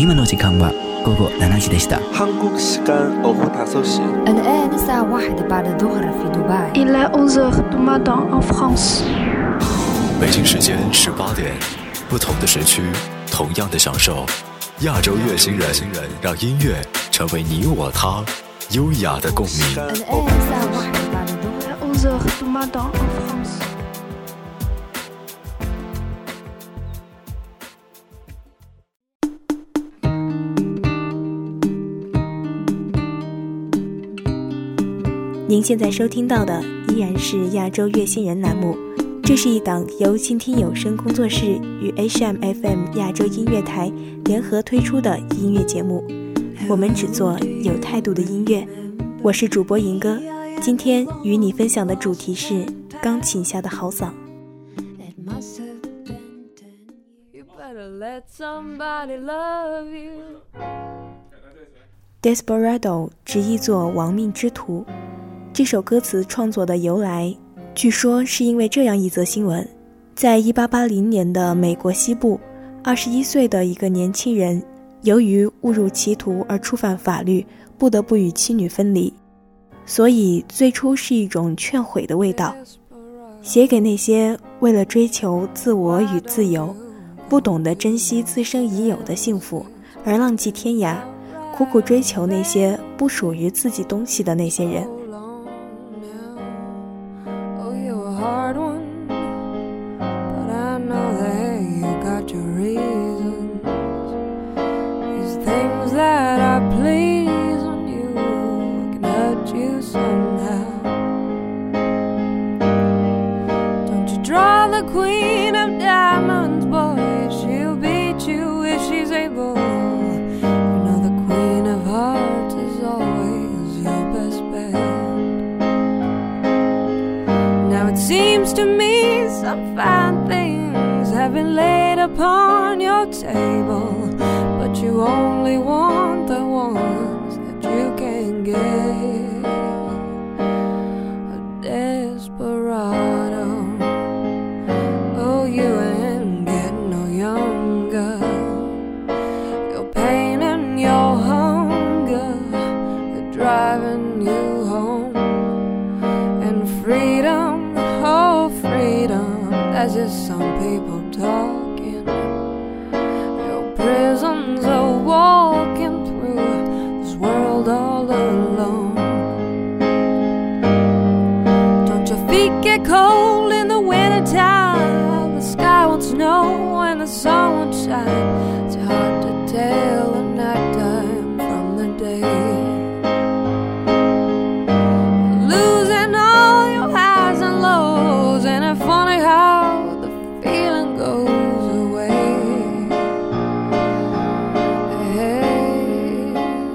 今の時間は午後7時でした。 한국 시간 오후 5시. الآن الساعة 1 بعد الظهر في دبي. Il est 11h du matin en France. 北京时间18点，不同的时区，同样的享受。亚洲乐星人，让音乐成为你我他优雅的共鸣。 الآن الساعة 1 بعد الظهر. Il est 11h du matin en France. 您现在收听到的依然是亚洲乐星人栏目，这是一档由倾听有声工作室与 HMFM 亚洲音乐台联合推出的音乐节目。我们只做有态度的音乐。我是主播银哥，今天与你分享的主题是钢琴下的好嗓。Desperado 直译作亡命之徒。这首歌词创作的由来，据说是因为这样一则新闻：在1880年的美国西部，21岁的一个年轻人由于误入歧途而触犯法律，不得不与妻女分离，所以最初是一种劝悔的味道，写给那些为了追求自我与自由，不懂得珍惜自身已有的幸福，而浪迹天涯，苦苦追求那些不属于自己东西的那些人。 Hard one, but I know that you got your reasons. These things that I please on you can hurt you somehow. Don't you draw the queen of diamonds, boy, she'll beat you if she's able. You know the queen of hearts is always your best bet. It seems to me some fine things have been laid upon your table, but you only want the ones that you can get. A desperado, oh, you ain't getting no younger. Your pain and your hunger are driving you home, and freedom, oh, freedom, that's just some people talking. Your prisons are walking through this world all alone. Don't your feet get cold in the wintertime? The sky won't snow and the sun won't shine. It's hard to tell at night time from the day. Funny how the feeling goes away. Hey,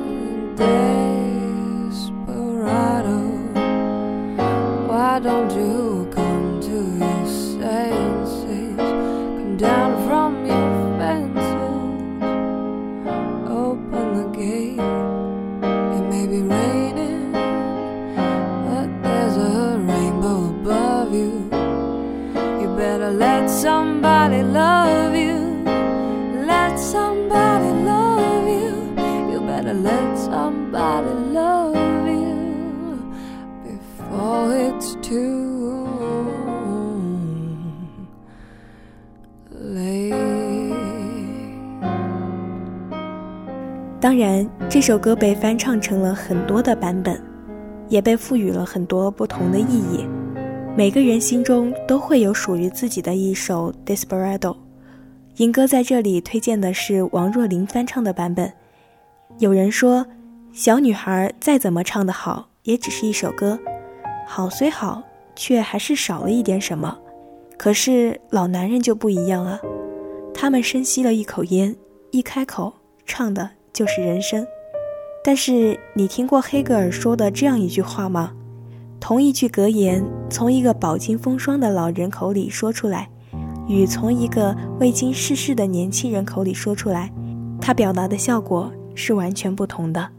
desperado, why don't you come to your senses? Come down from your fences, open the gate. It may be raining, but there's a rainbow above you. Better let somebody love you. Let somebody love you. You better let somebody love you before it's too late. 当然，这首歌被翻唱成了很多的版本，也被赋予了很多不同的意义。每个人心中都会有属于自己的一首 Desperado。 银哥在这里推荐的是王若琳翻唱的版本。有人说，小女孩再怎么唱得好，也只是一首歌，好虽好，却还是少了一点什么。可是老男人就不一样了，他们深吸了一口烟，一开口唱的就是人生。但是你听过黑格尔说的这样一句话吗？同一句格言从一个饱经风霜的老人口里说出来，与从一个未经世事的年轻人口里说出来，它表达的效果是完全不同的。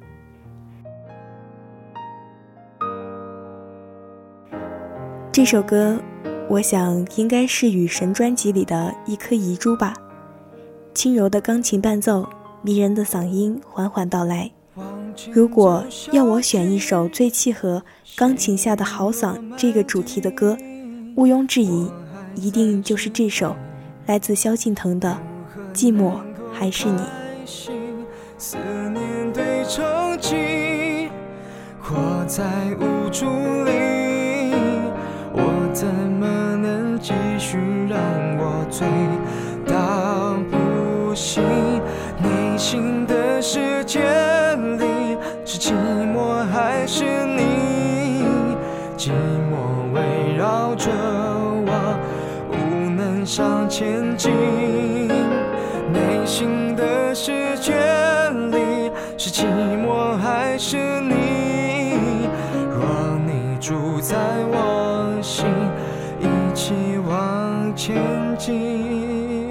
这首歌我想应该是雨神专辑里的一颗遗珠吧，轻柔的钢琴伴奏， 迷人的嗓音缓缓到来。如果要我选一首最契合钢琴下的豪嗓这个主题的歌，毋庸置疑，一定就是这首来自萧敬腾的《寂寞还是你》。 思念对抽泣，活在无助里，我怎么能继续让我醉到不行？内心的世界里，是寂寞还是你？寂寞围绕着我，无能向前进。内心的世界里，是寂寞还是你？若你住在我心，一起往前进。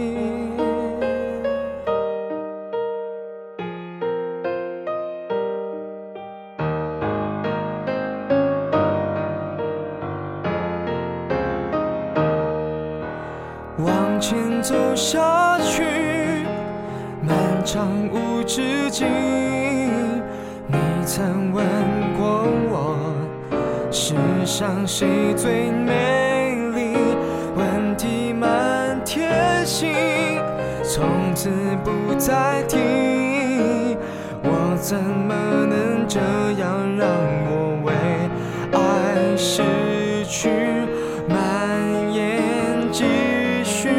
往前走下去，漫长无止境。你曾问过我，世上谁最美丽？问题满天星，从此不再提。我怎么能这样让我为爱失去蔓延继续？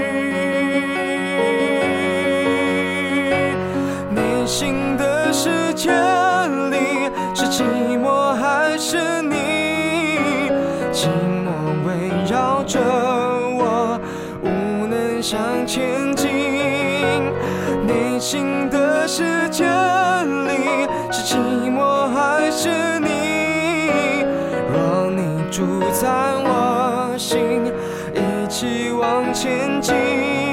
内心的世界里，是寂寞还是你？寂寞围绕着我，无能向前进。内心的世界里，是寂寞还是你？若你住在我心，一起往前进。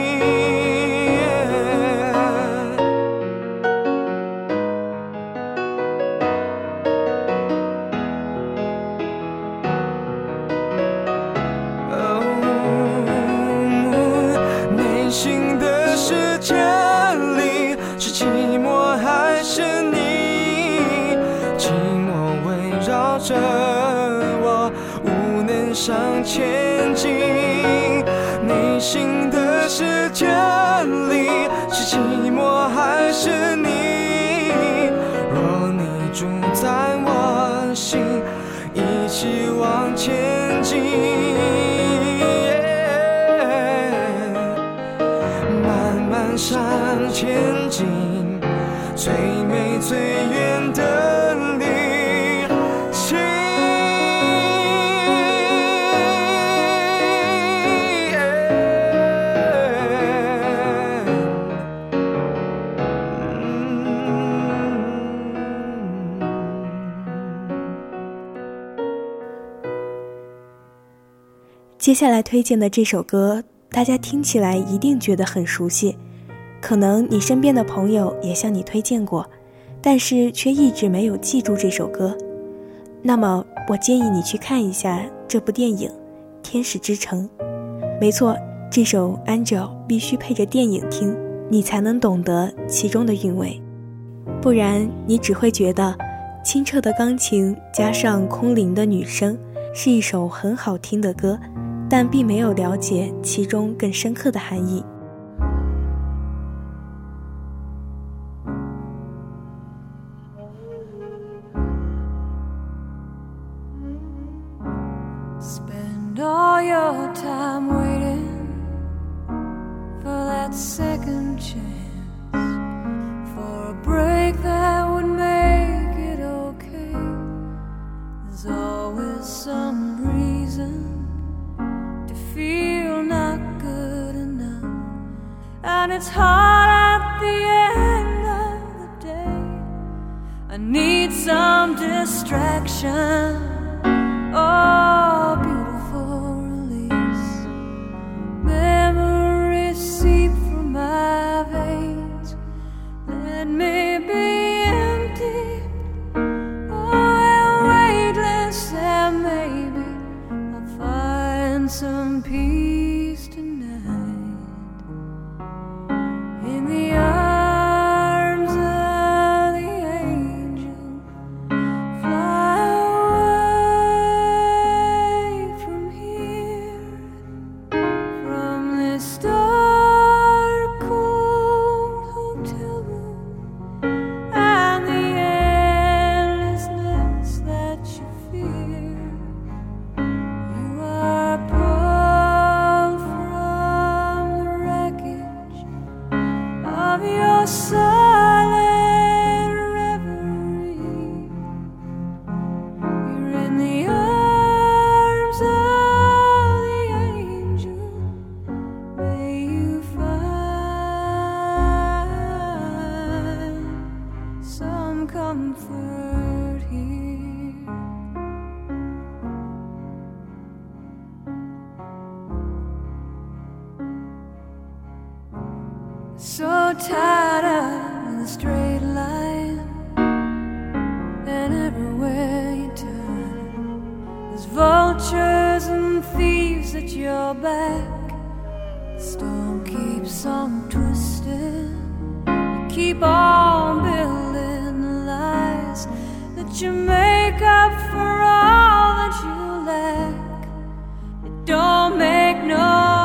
内心的世界里，是寂寞还是你？寂寞围绕着我，无能向前进。内心的世界里，是寂寞还是你？若你住在我心，一起往前进。向前进，最美最远的旅行。 接下来推荐的这首歌，大家听起来一定觉得很熟悉。可能你身边的朋友也向你推荐过，但是却一直没有记住这首歌。那么我建议你去看一下这部电影《天使之城》。没错，这首 Angel 必须配着电影听，你才能懂得其中的韵味，不然你只会觉得清澈的钢琴加上空灵的女声是一首很好听的歌，但并没有了解其中更深刻的含义。 Spend all your time waiting for that second chance, for a break that would make it okay. There's always some reason to feel not good enough, and it's hard at the end of the day. I need some distraction, oh, beautiful release. Memories seep from my veins. Let me be empty, oh, weightless, and maybe I'll find some peace tonight in the arms silent reverie. You're in the arms of the angel. May you find some comfort here. So tired of the straight line, and everywhere you turn, there's vultures and thieves at your back. The storm keeps on twisting. You keep on building the lies that you make up for all that you lack. It don't make no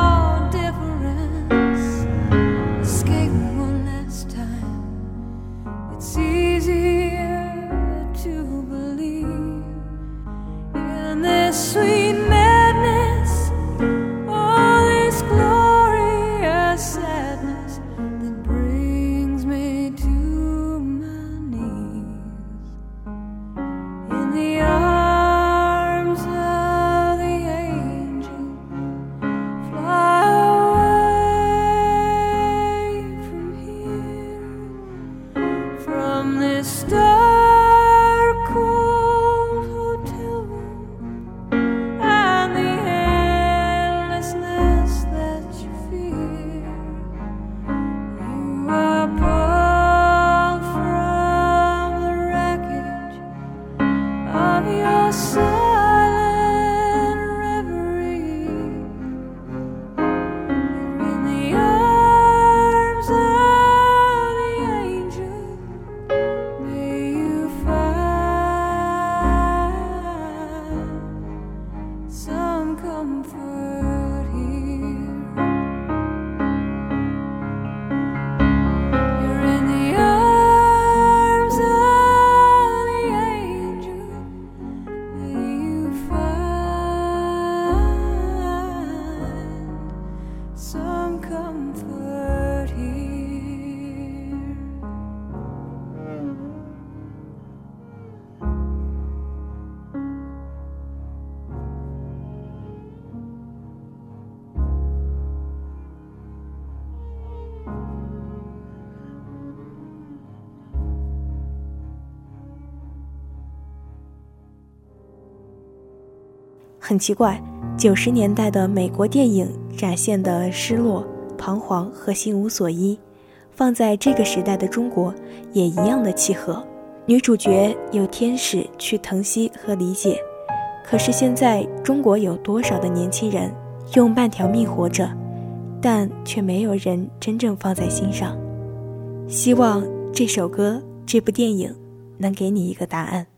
sweet madness, all this glorious sadness that brings me to my knees. In the arms of the angel, fly away from here, from this dark cold hotel room. 很奇怪，90年代的美国电影展现的失落、彷徨和心无所依，放在这个时代的中国也一样的契合。女主角有天使去疼惜和理解，可是现在中国有多少的年轻人用半条命活着，但却没有人真正放在心上。希望这首歌、这部电影能给你一个答案。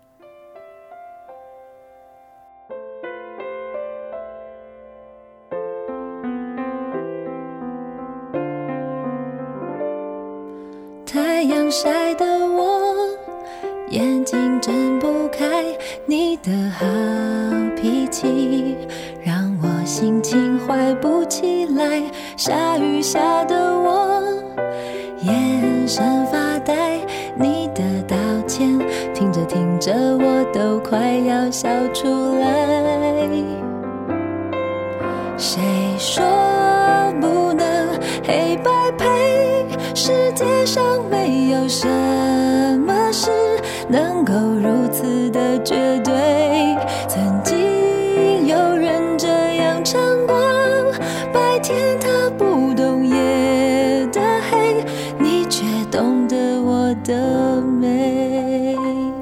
太阳晒得我眼睛睁不开，你的好脾气让我心情坏不起来，下雨下得我眼神发呆，你的道歉听着听着我都快要笑出来。谁说不能黑白配？世界上没有什么事能够如此的绝对。曾经有人这样唱过，白天他不懂夜的黑，你却懂得我的美。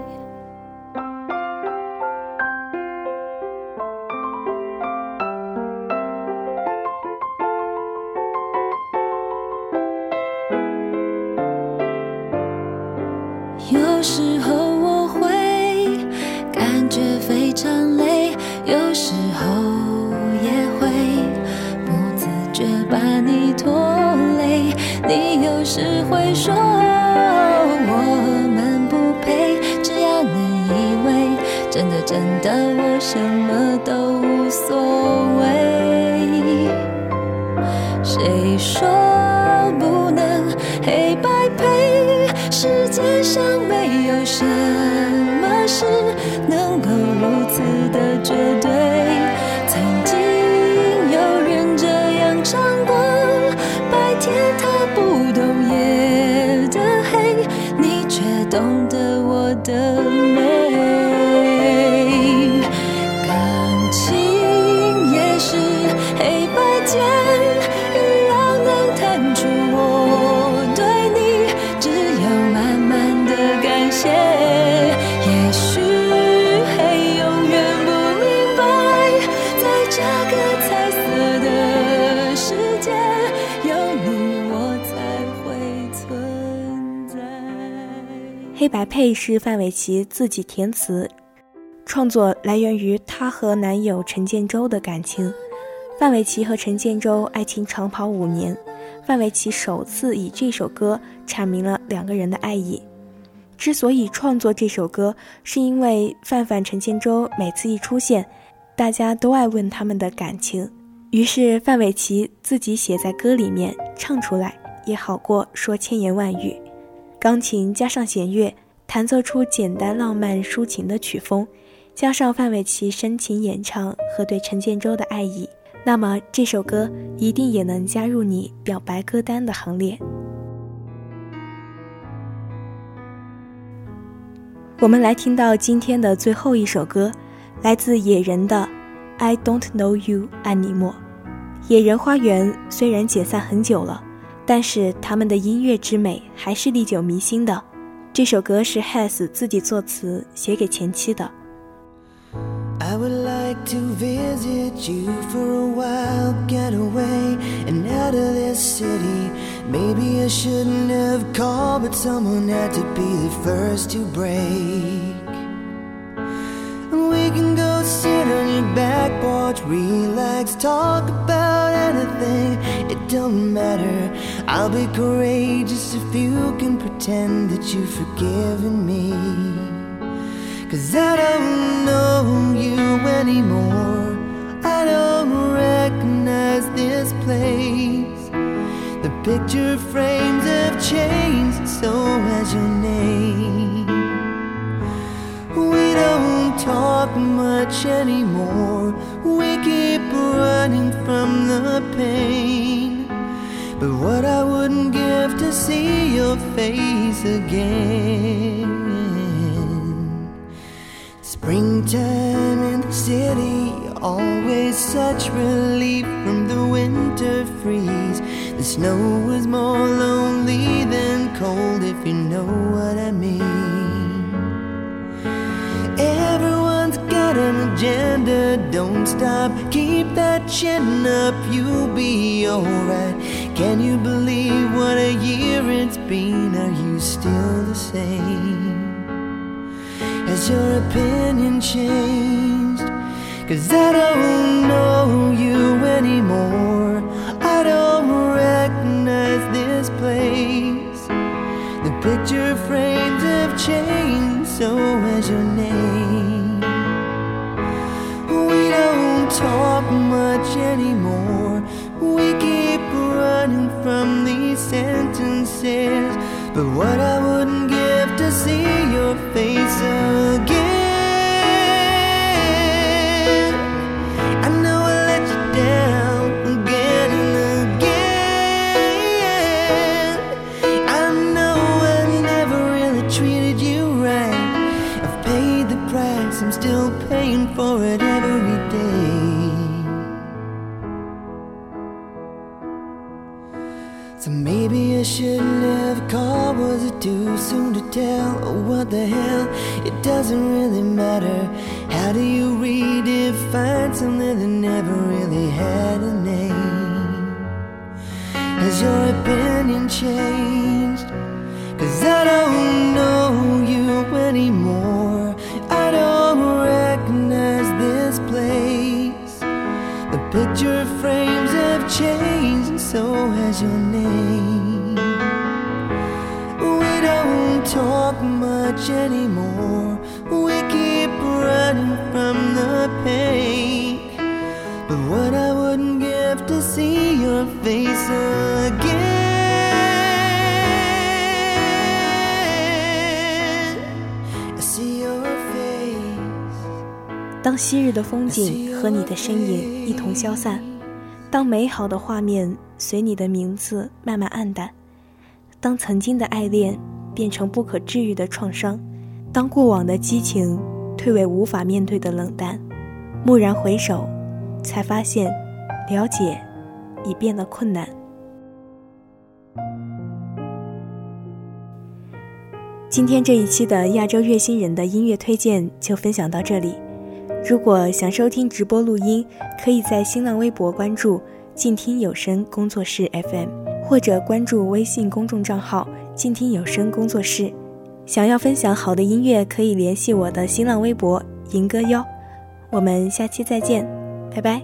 有时候我会感觉非常累，有时候也会不自觉把你拖累。你有时会说我们不配，只要能以为真的真的我什么都无所谓。谁说不能黑白栽培。世界上没有什么事能够如此的绝对。曾经有人这样唱过，白天他不懂夜的黑，你却懂得我的美。感情也是黑白间，一样能弹出我对你只有满满的感谢。也许会永远不明白，在这个彩色的世界，有你我才会存在。 黑白配是范玮琪自己填词，创作来源于她和男友陈建州的感情。范玮琪和陈建州爱情长跑5年，范玮琪首次以这首歌阐明了两个人的爱意。之所以创作这首歌，是因为范范陈建州每次一出现，大家都爱问他们的感情，于是范玮琪自己写在歌里面唱出来，也好过说千言万语。钢琴加上弦乐，弹奏出简单浪漫抒情的曲风，加上范玮琪深情演唱和对陈建州的爱意，那么这首歌一定也能加入你表白歌单的行列。我们来听到今天的最后一首歌，来自野人的 I Don't Know You 爱你莫。野人花园虽然解散很久了，但是他们的音乐之美还是历久弥新的。这首歌是 Has 自己作词写给前妻的。 I would like to visit you for a while, get away and out of this city. Maybe I shouldn't have called, but someone had to be the first to break. And we can go sit on your back porch, relax, talk about anything. It don't matter, I'll be courageous if you can pretend that you've forgiven me.'Cause I don't know you anymore, I don't recognize this place. The picture frames have changed, and so has your name. We don't talk much anymore, we keep running from the pain. But what I wouldn't give to see your face again.Springtime in the city, always such relief from the winter freeze. The snow was more lonely than cold, if you know what I mean. Everyone's got an agenda, don't stop, keep that chin up, you'll be alright. Can you believe what a year it's been? Are you still the same?Has your opinion changed? 'Cause I don't know you anymore, I don't recognize this place. The picture frames have changed, so has your name. We don't talk much anymore, we keep running from these sentences. But what I wouldn't give to see your face again. I know I let you down again and again. I know I never really treated you right. I've paid the price, I'm still paying for it every day. So maybe I shouldn't have called, was it too soon to tell? Oh, what the hell, it doesn't really matter. How do you redefine something that never really had a name? Has your opinion changed? 'Cause I don't know you anymore, I don't recognize this place. The picture frames have changed, and so has your name. We don't talk much anymore, we keep running from the pain. But what I wouldn't give to see your face again. 当昔日的风景和你的身影一同消散，当美好的画面随你的名字慢慢暗淡，当曾经的爱恋变成不可治愈的创伤，当过往的激情退为无法面对的冷淡，蓦然回首，才发现了解已变得困难。今天这一期的亚洲乐星人的音乐推荐就分享到这里。如果想收听直播录音，可以在新浪微博关注静听有声工作室 FM， 或者关注微信公众账号静听有声工作室。想要分享好的音乐，可以联系我的新浪微博银歌哟。我们下期再见，拜拜。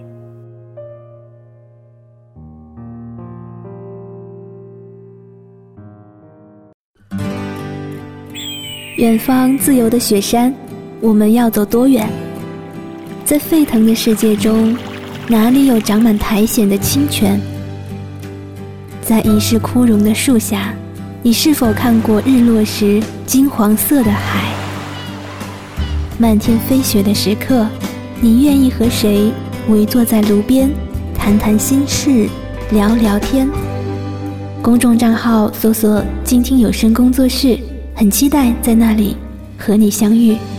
远方自由的雪山，我们要走多远？在沸腾的世界中，哪里有长满苔藓的清泉？在已是枯荣的树下，你是否看过日落时金黄色的海？漫天飞雪的时刻，你愿意和谁围坐在炉边，谈谈心事，聊聊天？公众账号搜索静听有声工作室，很期待在那里和你相遇。